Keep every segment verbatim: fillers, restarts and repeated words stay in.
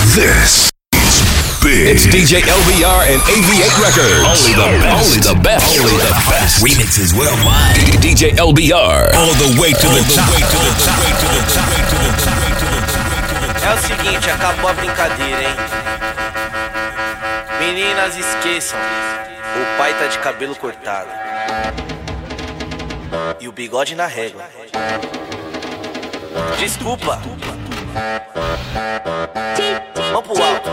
This is big. It's D J L B R and A V eight Records. Only the best. Only the best. Only the best. Remixes worldwide. D J L B R. All the way to the top. É o seguinte, acabou a brincadeira, hein? Meninas, esqueçam. O pai tá de cabelo cortado e o bigode na régua. Desculpa. Vamos pro alto.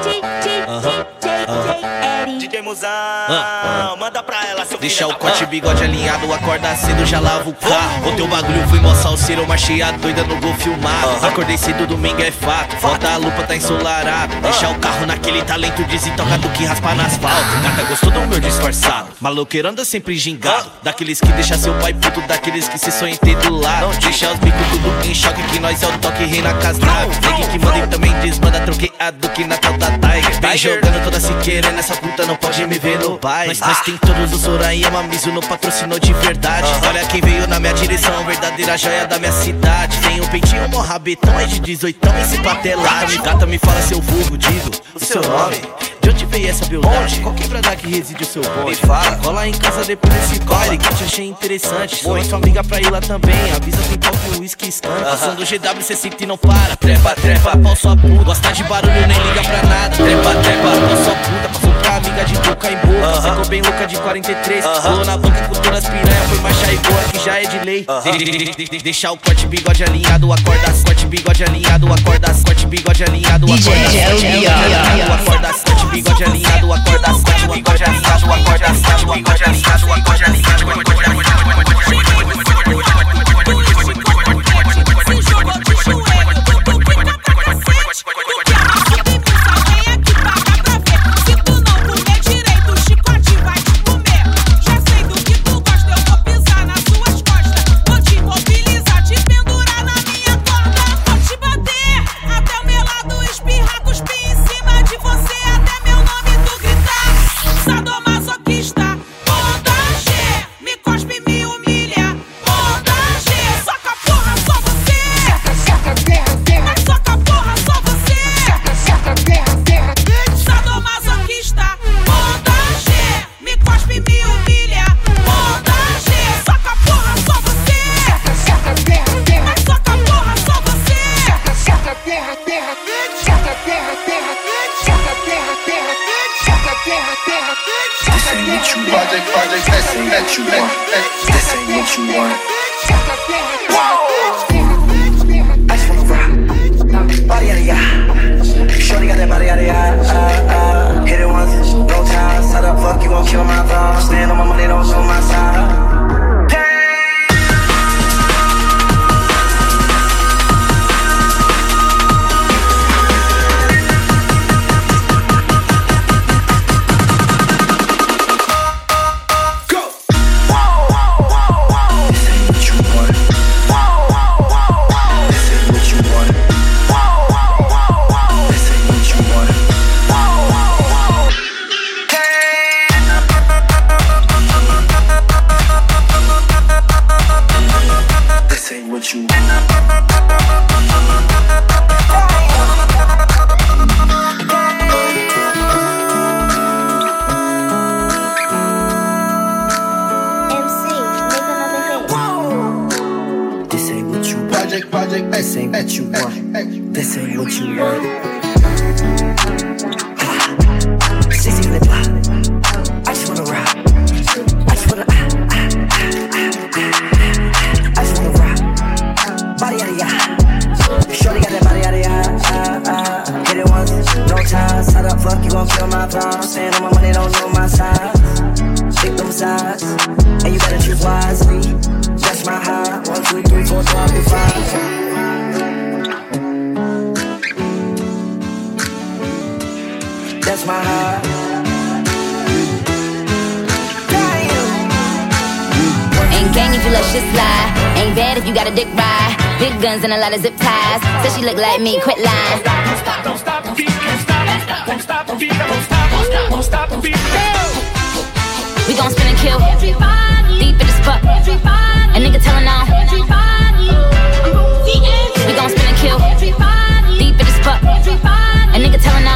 D J Muzão, manda pra ela, seu filho. Deixa o corte e bigode alinhado, acorda cedo, já lava o carro. O teu bagulho foi mó salseiro, eu marchei a doida no gol filmado. Acordei cedo, domingo é fato, falta a lupa, tá ensolarado. Deixa o carro naquele talento desintocado que raspa no asfalto. Gata gostou do meu disfarçado, maloqueiro anda sempre gingado. Daqueles que deixa seu pai puto, daqueles que se sonha em ter do lado. Deixa os bicos tudo em choque, que nós é o toque rei na casa. Negue que manda e também desmanda, troqueado que na tal da Tiger. Vem jogando toda siqueira, nessa puta não pode me ver no pai. Nós, nós tem todos os Sorayama, Mizuno patrocinou de verdade. Olha quem veio na minha direção, verdadeira joia da minha cidade. Tem um peitinho, mó rabetão, é de dezoitão, esse patelado. Gata, me fala seu vulgo, digo o seu nome. De onde veio essa beldade? Qual quebrada que reside o seu bonde? Me fala. Cola em casa depois desse baile que eu te achei interessante. Chama sua amiga pra ir lá também. Avisa tem pau que o uísque escanda. Passando G W cê senta e não para. Trepa, trepa, pau sua puta. Gosta de barulho, nem liga pra nada. Trepa, trepa, pau sua puta. Passou pra amiga de boca em boca. Ficou bem louca de quarenta e três. Pulou na banca com todas as piranhas. Foi marcha e boa que já é de lei. Deixa o corte bigode alinhado. Acorda, corte bigode alinhado. Acorda, corte bigode alinhado. Acorda, corte bigode alinhado. Acorda, corte bigode alinhado, acorda, corte bigode alinhado, acorda, corte bigode alinhado, acorda, alinhado, acorda, and a lot of zip ties. Said she look like me, quit lying. Don't stop, don't stop the beat, can't stop, won't stop the beat, won't stop, won't stop, won't stop the beat. We gon' spin and kill, deep in the spot. A nigga tellin' on. We gon' spin and kill, deep in the spot. A nigga tellin' on.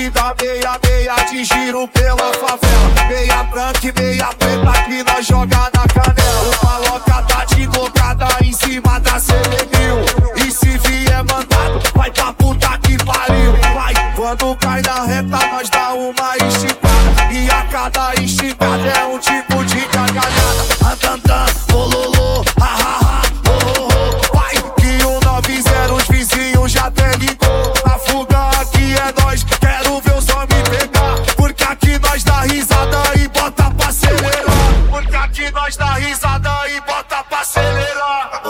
bonde da meia, meia de giro pela favela. Meia branca e meia preta que nós joga na canela. O maloca tá de cocada em cima da Celemil. E se vier mandado, vai pra puta que pariu. Vai, quando cai na reta, nós dá uma esticada. E a cada esticada é um tipo de gargalhada. Andandan, bololô, ha ha ha, oh oh oh. Vai, que o nove zero os vizinhos já até ligou. A fuga aqui é nós, quero ver os homens pegar. Porque aqui nós dá risada e bota pra acelerar. Porque aqui nós dá risada e bota pra acelerar.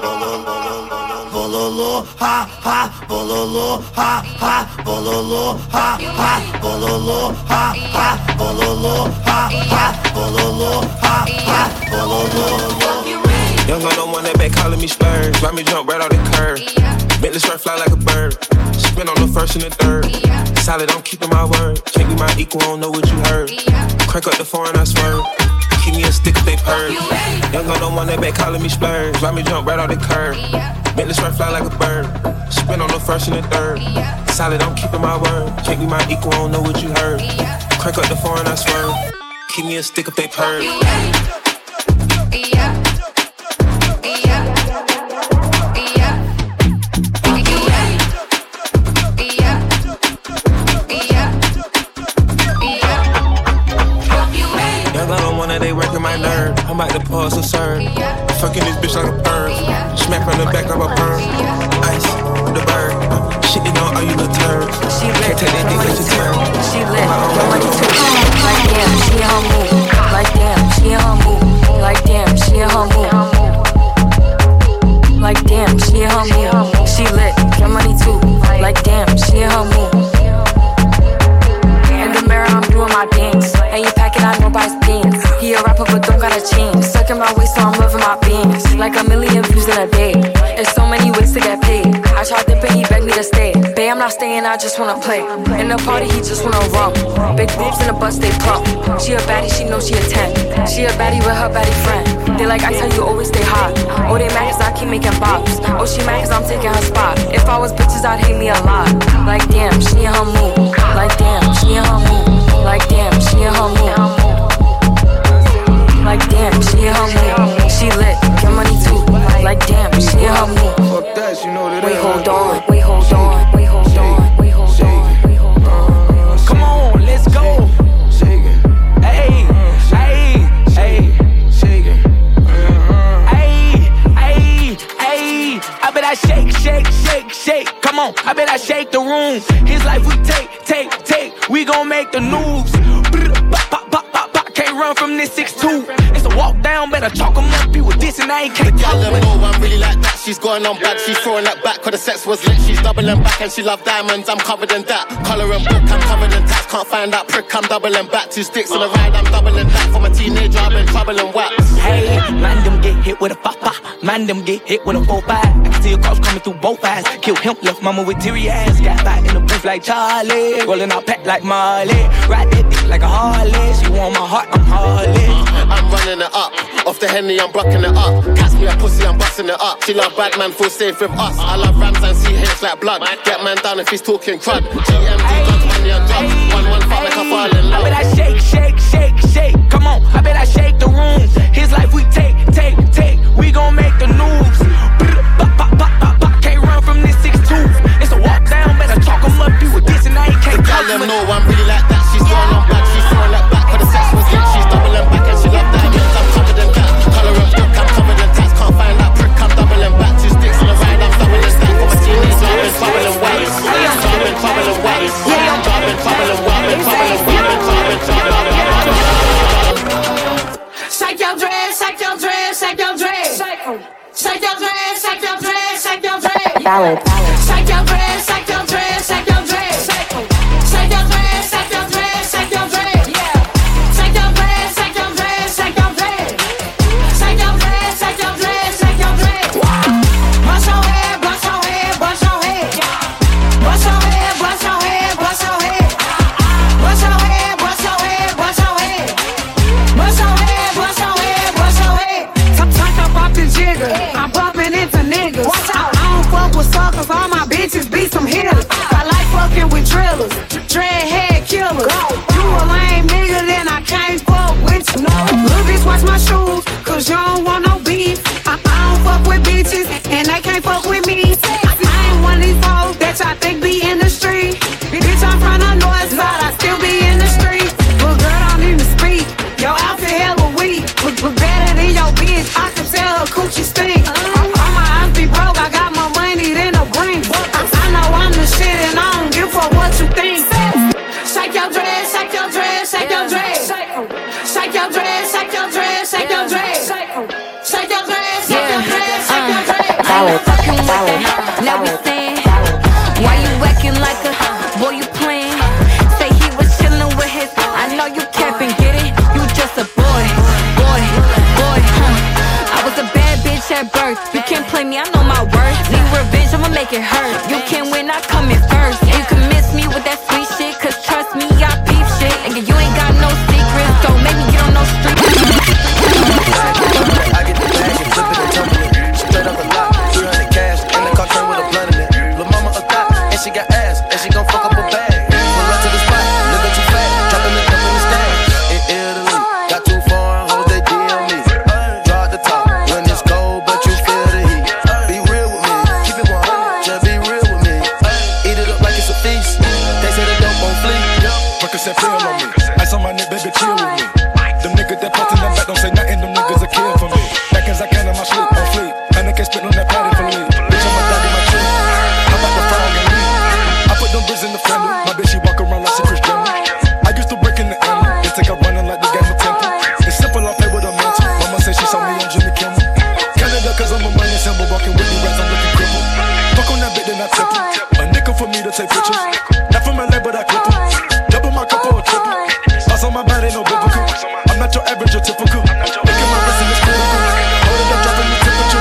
Bololô, ha ha, bololô, ha ha, bololô, ha ha, bololô, ha ha, bololô, ha ha, bololô, ha ha, bololô. Young gun on one that back calling me Spurs. Ride me jump right off the curb. Bentley straight fly like a bird. Spin on the first and the third. Solid, I'm keeping my word. Can't be my equal, I don't know what you heard. Crank up the foreign, I swerve. Keep me a stick if they purge. Young gun on one that back calling me Spurs. Ride me jump right off the curb. Bentley straight fly like a bird. Spin on the first and the third. Solid, I'm keeping my word. Can't be my equal, I don't know what you heard. Crank up the foreign, I swerve. Keep me a stick if they purge. They working my nerve. I'm about to pause so serve. Fucking this bitch like a bird. Smack on the back of a perm. Ice, the bird. Shit, you know, all you little turds. She lit. Can't take that dick, let you turn. She lit. No money too. Like damn, she in her move. Like damn, she in her move. Like damn, she in her move. Like damn, she in her move. She lit. Your money too. Like damn, she in her move. In the mirror, I'm doing my dance. And you packing out nobody's pants. He a rapper but don't got a chain. Sucking my waist so I'm loving my bands. Like a million views in a day. There's so many ways to get paid. I tried dipping, he begged me to stay. Babe, I'm not staying, I just wanna play. In the party, he just wanna rump. Big boobs in the bus, they plump. She a baddie, she knows she a ten. She a baddie with her baddie friend. They like ice, how you always stay hot. Oh, they mad cause I keep making bops. Oh, she mad cause I'm taking her spot. If I was bitches, I'd hate me a lot. Like damn, she in her mood. Like damn, she in her mood. Like damn, she in her mood. Like damn, she in her mood. She lit, get money too. Like damn, she in her mood. Fuck that, you know that. Wait, hold on, wait, hold on, wait, hold on, wait, hold on, wait, hold on. Come on, let's go. Shake it. Hey, hey, hey. Shake it. Hey, hey, hey. I bet I shake, shake, shake, shake. Come on, I bet I shake the room. His life we take, take, take. We gon' make the news. Pop, pop, pop, pop, pop. Can't run from this six two. It's a walk down, better chalk 'em up. You with this and I ain't can't tell them no, I'm really like that. She's going on bad, she's throwing that back. Cause the sex was lit, she's doubling back. And she love diamonds, I'm covered in that. Colour and book, I'm covered in tats. Can't find that prick, I'm doubling back. Two sticks on the ride, I'm doubling that. From a teenager, I've been troubling wax. Hey, man, them get hit with a papa. Man, them get hit with a four five. I can see a cross coming through both eyes. Kill him, left mama with teary eyes. Got back in the booth like Charlie. Rolling out pack like Marley. Ride that dick like a Harley. She want my heart, I'm Harley. I'm running it up. Off the Henny, I'm bucking it up. Catch me a pussy, I'm busting it up. She love bad man, feel safe with us. I love rams and C H like blood. Get man down if he's talking crud. G M D, guns, money and drugs. One, one, fuck like I fall in love. I bet I shake, shake, shake, shake. Come on, I bet I shake the room. His life we take, take, take. We gon' make the news. Pop, pop, pop, pop, pop. Can't run from this six two. It's a walk down, better chalk 'em up. You with this and I ain't can't tell them no, I'm really like that. She's going on bad, she's throwing that back. Cause the sex was lit, she's doubling back. And she love diamonds, I'm covered in that. Colour and book, I'm covered in tats. Can't find that prick, I'm doubling back. Two sticks on the ride, I'm doubling stack. From a teenager, I've been troubling wax. I've been troubling wax. I've been troubling wax. I've been troubling wax. Shake your dress, shake your dress, shake your dress. Shake your dress, shake your dress, shake your dress. Ballad. Shake your dress, shake your dress, shake your dress. Shake your dress, shake your dress, shake your dress. Shake your dress, shake your dress, shake your dress. Shake your dress, shake your dress, shake your dress. Bust your head, bust your head, bust your head. Bust your head, bust your head, bust your head. Bust your head, bust your head, bust your head. Bust your head, bust your head, bust your head. Tuck up off the jigger, I'm bumping into niggas. I, I don't fuck with suckers. fucking with it. Now we saying, why you acting like a boy you playing? Say he was chillin' with his, I know you capping, get it? You just a boy, boy, boy, huh? I was a bad bitch at birth. You can't play me, I know my worth. Need revenge, I'ma make it hurt. You can't win, I come in first. And you can miss me with that sweet shit, cause trust me, I peep shit. And you ain't got no secrets, don't make me get on no street. I get the bag and flip it and tumble it. Straight up the lot, three hundred cash, and the car turn with a blunt in it. Lil' mama a thot, and she got ass, and she gon' fuck up a bag. Pull up to the spot, living too fast, dropping the dump in the stash. In Italy, got two foreign hoes, they D M me. Draw at the top, when it's cold, but you feel the heat. Be real with me, keep it one hundred, just be real with me. Eat it up like it's a feast, they say the dope won't flee. Percocet pill on me, ice on my neck, baby, chill with me. Them niggas that post in the back don't say nothing, them niggas a kill for me. Back as I can in my sleep, on fleek, and I can spit on that patty for me. Bitch, I'm a dog in my tree, how about the frog and leaf? I put them bricks in the family, my bitch, she walk around like she Chris Jenner. I used to break in the alley, they take her running like the game of Temple. It's simple, I play with a mantle, mama say she saw me on Jimmy Kimmel. Canada, cause I'm a money symbol, walking with you rats, I'm looking crippled. Fuck on that bit, then I temple. A nickel for me to take pictures, not from L A, but I clip em. Double my cup or a triple, boss on my body, no biblical. I'm not your average or typical. Look at my wrist and it's critical. Hold it up, dropping the temperature.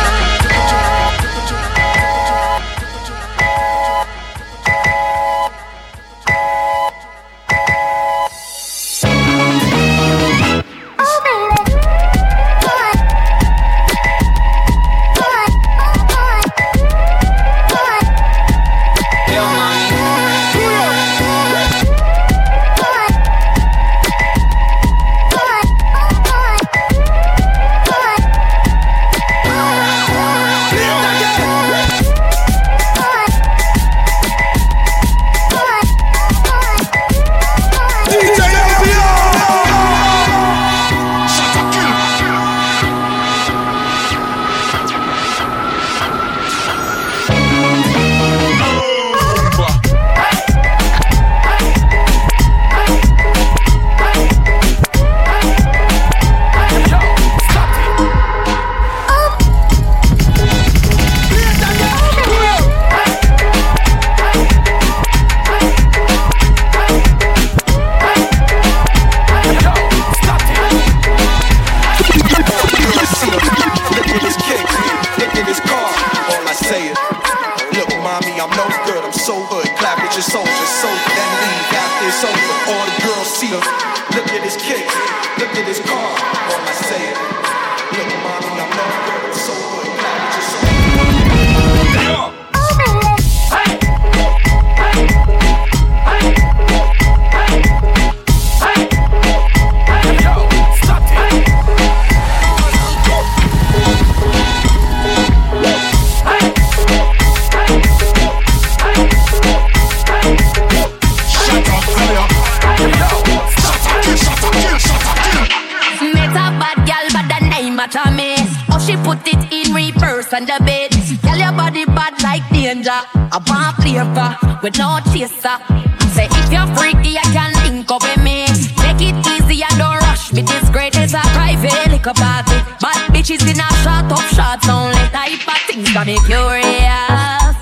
With no chaser. Say if you're freaky, I can link up with me. Take it easy and don't rush me. This great is a private liquor party. Bad bitches in a shot up shots only. Type of things got me curious.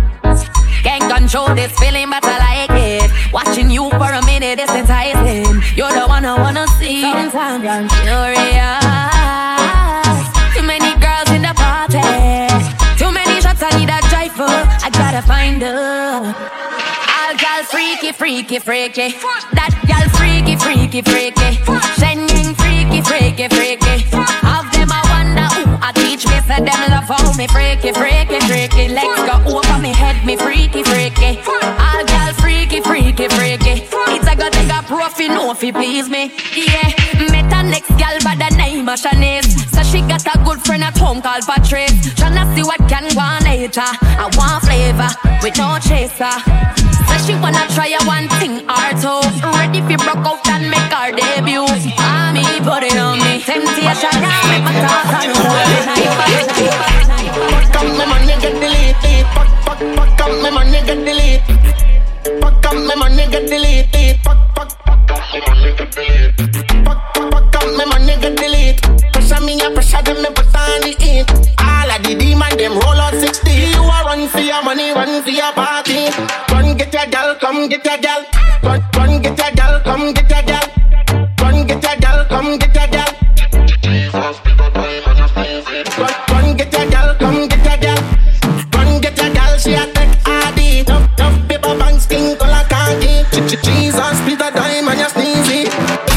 Can't control this feeling, but I like it. Watching you for a minute is enticing. You're the one I wanna see. Sometimes I'm curious. Too many girls in the party. Too many shots, I need a driver. I gotta find her. All gal freaky, freaky, freaky. That gal freaky, freaky, freaky. Shenyang freaky, freaky, freaky. Have them I wonder who I teach me. Said them love how me freaky, freaky, freaky. Legs go over me head, me freaky, freaky. All gal freaky, freaky, freaky. It's a go take a profit, no fi please me. Yeah, met a next gal by the name of Shanice. So she got a good friend at home called Patrice. Tryna see what can go on later. I want flavor with no chaser. So she wanna try a one thing or two. Ready fi broke out and make her debut. Ah, me put it on me. Temptation got me my thoughts on Fuck up me money get deleted. Fuck, fuck, fuck up me money get deleted. Fuck up me money get deleted. Fuck, fuck, fuck up me money get deleted. Fuck, fuck, fuck up me money get deleted. Pressure me a pressure them me put on the heat. All of the demon them roll out six come get your gal. Run, run, get your gal, come get your gal. Run, get your gal, come get your gal. Run, run, get your gal, come get your gal. Run, get your gal, she a take R D. Tough, tough paper bang, skin color khaki. Jesus, be the dime and you sneezy.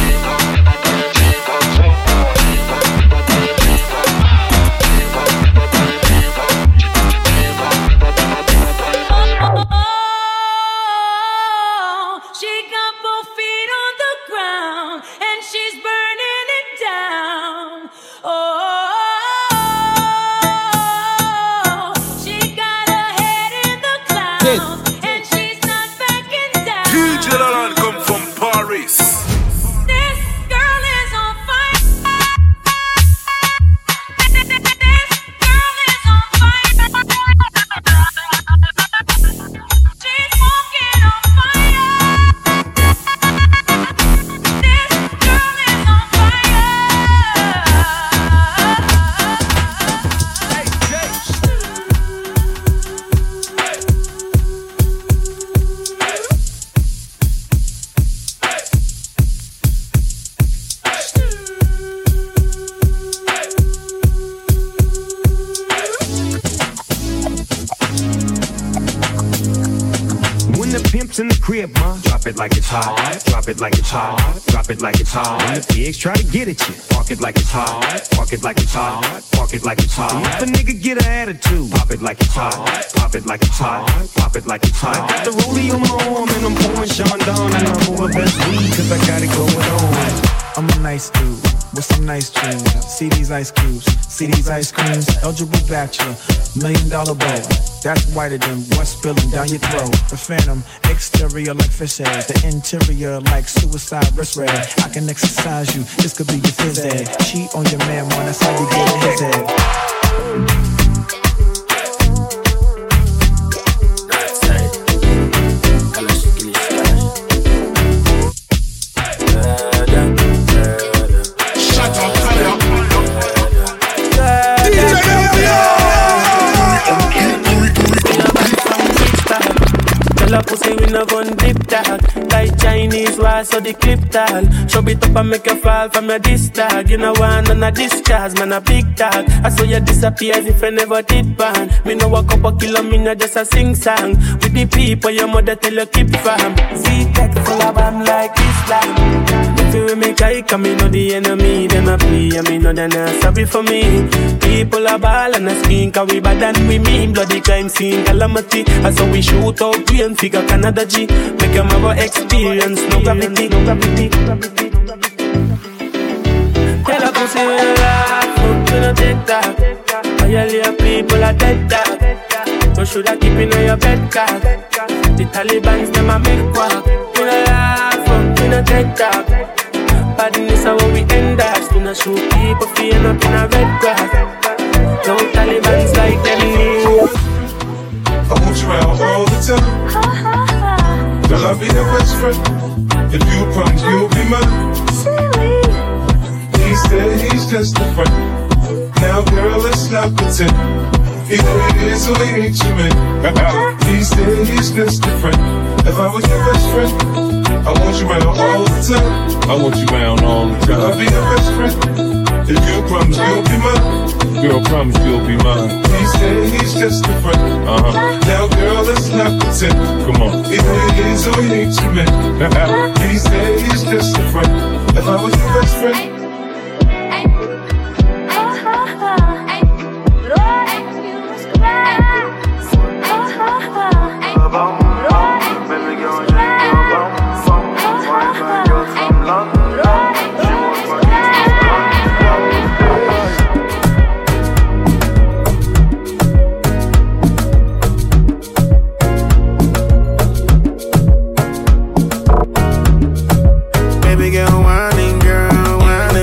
In the crib, ma. Drop it like it's hot. Drop it like it's hot. Drop it like it's hot. When the pigs try to get at you, park it like it's hot. Park it like it's hot. Park it like it's hot. If a nigga get an attitude, pop it like it's hot. Pop it like it's hot. Pop it like it's hot. I got the rollie on my arm and I'm pouring Sean down and I'm over best weed cause I got it going on. I'm a nice dude with some nice dreams. See these ice cubes, see these ice creams. Eligible bachelor, million dollar bow. That's whiter than what's spilling down your throat. The phantom, exterior like fish eggs. The interior like suicide wrist red. I can exercise you, this could be your phys ed. Cheat on your man, man, that's how you get in his head. Pussy we no gun dip tag. Like Chinese wall so the clip tag. Show it up and make you fall from your disc tag. You know one on a discharge, man a big tag. I saw you disappear as if I never did ban. Me know a couple kilo, me no just a sing song. With the people your mother tell you keep fam. See that full of bam like Islam. If you make I come, me know the enemy. Them a play and me know they not sorry for me. People a ball and a skin cause we bad and we mean. Bloody crime scene calamity. I saw we shoot out we and figure Canada G. Make them have a experience, no gravity, no gravity, no gravity. Tell a pussy we no laugh, fuck we no take that. All your people are dead dog. So should I keep in your bed card? The Taliban's them a make walk. We no laugh, fuck we no take that. Badness how we end us. We no shoot people feeling up in a red grass. No Taliban's like them. I want you around all the time. Girl, I'll be your best friend. If you promise you'll be mine. He said he's just a friend. Now girl, let's not pretend. He is who he ain't you, man. He said he's just a friend. If I was your best friend, I want you around all the time. I want you around all the time. Girl, I'll be your best friend. If you promise you'll be mine. Girl, promise you'll be mine. He said he's just a friend. Uh-huh. Now, girl, let's not pretend. Come on. Either he is or he ain't you, man. He said he's just a friend. If I was your best friend. Baby girl, whining, girl, whining.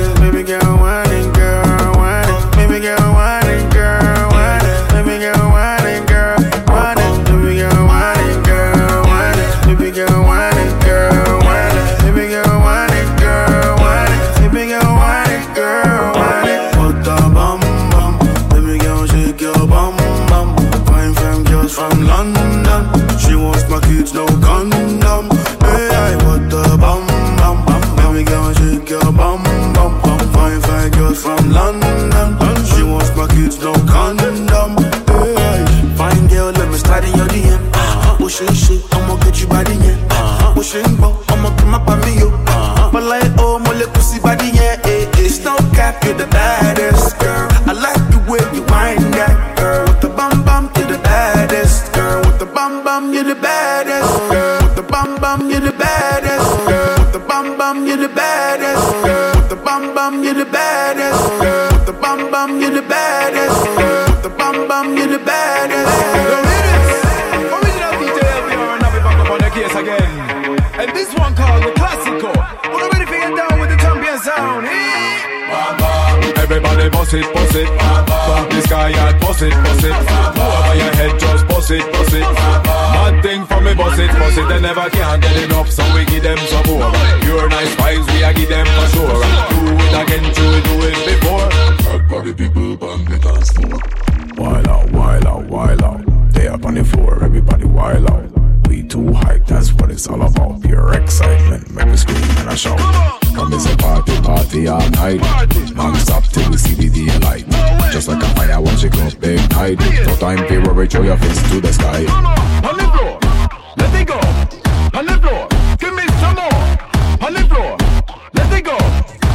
I'ma come up on me, yo. But like, oh, my little pussy body, yeah, eh, eh. It's no cap, you're the baddest, girl. I like the way you wind that, girl. With the bum bum, you're the baddest, girl. With the bum bum, you're the baddest, girl. With the bum bum, you're the baddest, girl. With the bum bum, you're the baddest, girl. With the bum bum, you're the baddest, girl. With the bum bum, you're the baddest, girl. With the bum bum, you're the baddest, girl. Original D J L B R and Navi back up on the case again. And this one called the Classico. We're ready to get down with the champion sound. Everybody boss it, boss it. From the sky and boss it, boss it. Over your head, just boss it, boss it. Mad thing for me, boss it, boss it. They never can get enough, so we give them some more. Pure nice vibes, we a give them for sure. Do it again, do it, do it before. Hard body people, bang the dance floor. Wild out, wild out, wild out. They up on the floor, everybody wild out. We too hype, that's what it's all about. Pure excitement, make me scream and I shout. Come is a party, party all night. Non-stop till we see the daylight. Just like a fire once you go big night. No time to worry, throw your face to the sky. On the floor, let it go. On the floor, give me some more. On the floor, let it go.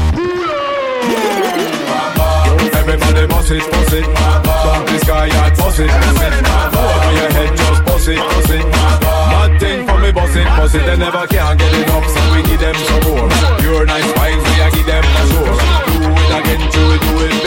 Everybody boss it, boss it. From the sky and boss it, boss it. Over your head, just boss it, boss it. Mad thing for me, boss it, boss it. They never can get enough, so we give them some more. Pure nice vibes, we a give them for sure. Do it again, do it, do it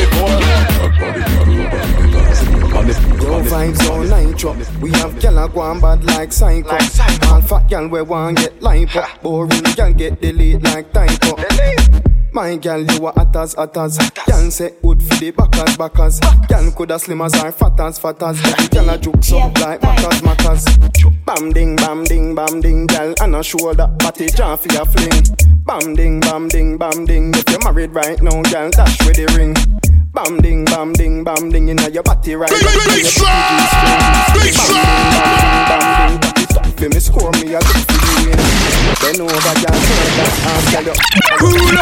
before. Yo vibes on nitro. We have gyal a go on bad like psycho. All fat gyal we want get lipo. Boring gyal get delete like typo. My gal, you a hot as hot as. Gal say good for the backers backers. Gal coulda slim as or fat as fat as. Gal a juke so like mackers mackers. Bam ding bam ding bam ding. Gal and a shoulder body jam for your fling. Bam ding bam ding bam ding. If you're married right now, gal dash with the ring. Bam ding bam ding bam ding. Inna your body right now. Bam ding bam ding. Fi me score me a good for the win. Then over gal turn that and tell you. Cool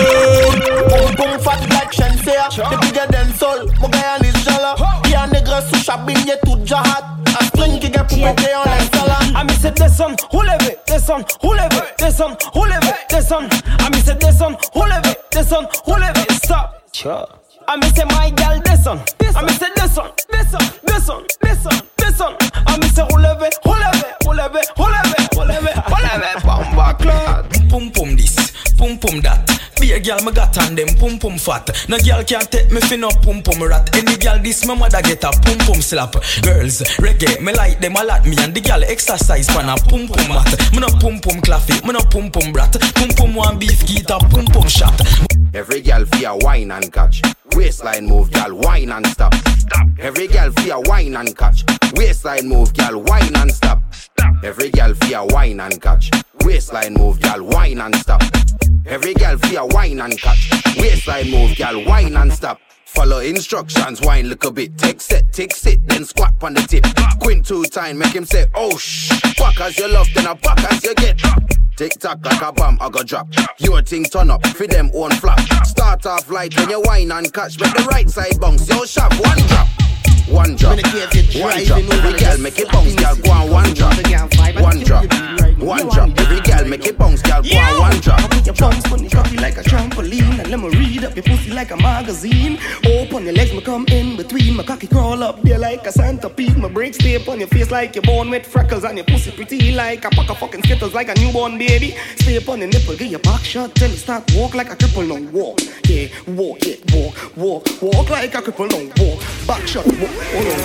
up. Boom boom fat like Shenseea. The bigger than soul. Mon gars en is jala. Y'a nègre sous chabine tout jahat. A string qui get pour péter en l'installa. Ami c'est descend, roulez, descend, roulez, descend, roulez, descend. Ami c'est descend, roulez, descend, roulez, stop. Ami c'est my gal descend. Ami c'est descend, descend, descend, descend, descend. Ami c'est roulez, roulez, roulez, roulez, roulez, roulez. Bamba clad. Pum pum this, pum pum that. Be a girl me got on them pum pum fat. No girl can't take me fin up pum pum rat. Any girl this my mother get a pum pum slap. Girls reggae me like them a lot. Me and the girl exercise pan a pum pum mat. Me no pum pum claffy, me no pum pum brat. Pum pum one beef guitar, pum pum shot. Every girl feel wine and catch. Waistline move, girl wine and stop. Stop. Every girl feel wine and catch. Waistline move, girl wine and stop. Stop. Every girl feel wine and catch. Waistline move, girl wine and stop. Every girl feel wine and catch. Waistline move, girl wine and stop. Follow instructions, wine look a bit. Take set, take sit, then squat on the tip. Quint two time, make him say, oh shh. Fuck as you love, then a fuck as you get. Tick tock like a bomb, I go drop. Your thing turn up, for them own flop. Start off light when you wine and catch. Make the right side bounce, yo shop, one drop. One drop, one drop. Every girl make it bounce, girl go on one drop. One drop, one drop. Every girl make it bounce, girl go on one drop. Your bounce on the cocky like a trampoline. And let me read up your pussy like a magazine. Open your legs, me come in between. My cocky crawl up there like a centipede. My brakes stay up on your face like you're born with freckles. And your pussy pretty like a pack of fucking Skittles like a newborn baby. Stay up on the nipple, get your back shot till you start walk like a cripple. Now walk, yeah, walk, yeah, walk, walk, walk like a cripple. Now walk, back shot, walk. Hold on.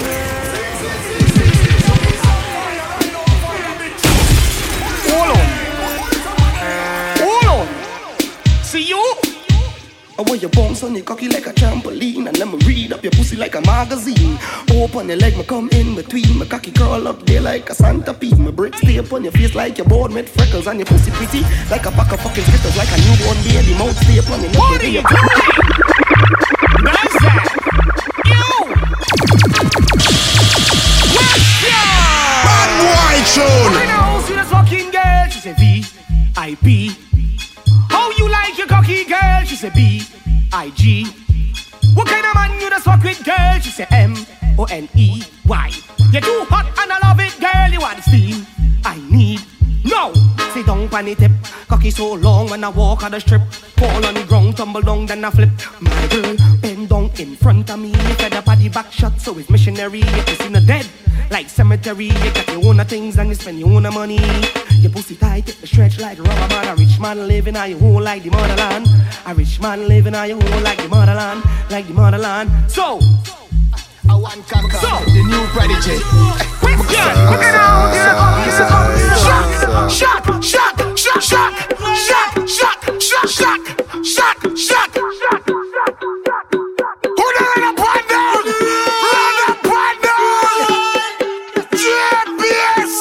Hold on. Hold on. See you? I want your bounce on your cocky like a trampoline. And let me read up your pussy like a magazine. Open your leg, me come in between. My cocky curl up there like a centipede. My bricks stay up on your face like you're born with freckles. And your pussy pretty like a pack of fucking Skittles. Like a newborn baby. Mouth stay up on your nipple. What are you doing? Nice that. Tune. I know, see this fucking girl, she say V I P. How you like your cocky girl? She say B I G. What kind of man you just fuck with, girl? She say M O N E Y. You're too hot and I love it, girl. You want steam? I need no. Sit down pan the tip. Cocky so long when I walk on the strip. Fall on the ground, tumble down, then I flip. My girl, bend down in front of me. Fed up at the back shot, so it's missionary. If you see no dead, like cemetery. You got your own things and you spend your own money. Your pussy tight, get the stretch like rubber man. A rich man living on your home like the motherland. A rich man living on your home like the motherland. Like the motherland. So I want come come so, the new prodigy. Yeah, look at now, shot, shot, shot, shot, shot, shot, shot, shot, shot, shot, shot, shot. Who the run up and down? Run up and down. J P S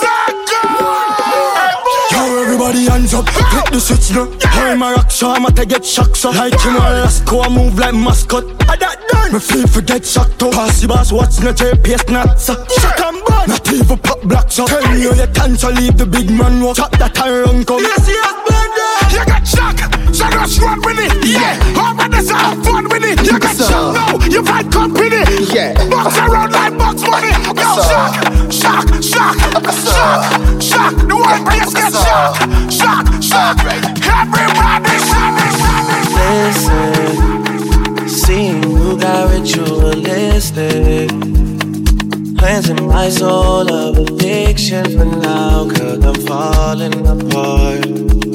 Yo, everybody hands up, hit the switch now. I'm a rock, so I'm to get shocked, so like him on Lasco, I move like mascot. I that done, me feel for get shocked up. Pass the boss, what's no J P S not so. Shock and burn, not even pop blocks up. Tell me on the dance, so leave the big man walk. Chop that and run come. Yes, yes, man, you got shock, so just run with it. Yeah, over the have fun with it. You got shock, no, you find company. Yeah, box around like box money. Yo, shock, shock, shock, shock, shock. The whole place get shock, shock, shock. Everybody shock, shock. Listen, seeing you got ritualistic plans in my soul of addiction for now, cause I'm falling apart.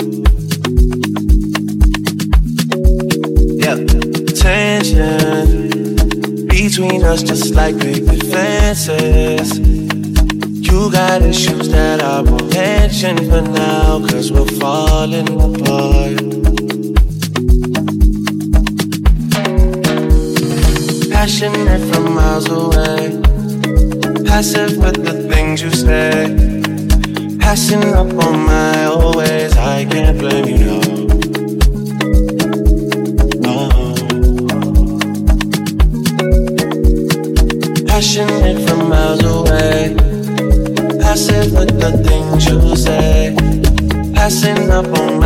Yeah, tension between us just like big defenses. You got issues that I won't mention for now, cause we're falling apart. Passionate from miles away, passive with the things you say, passing up on my old ways. I can't blame you, no. No. Passionate from miles away, passive with the things you say, passing up on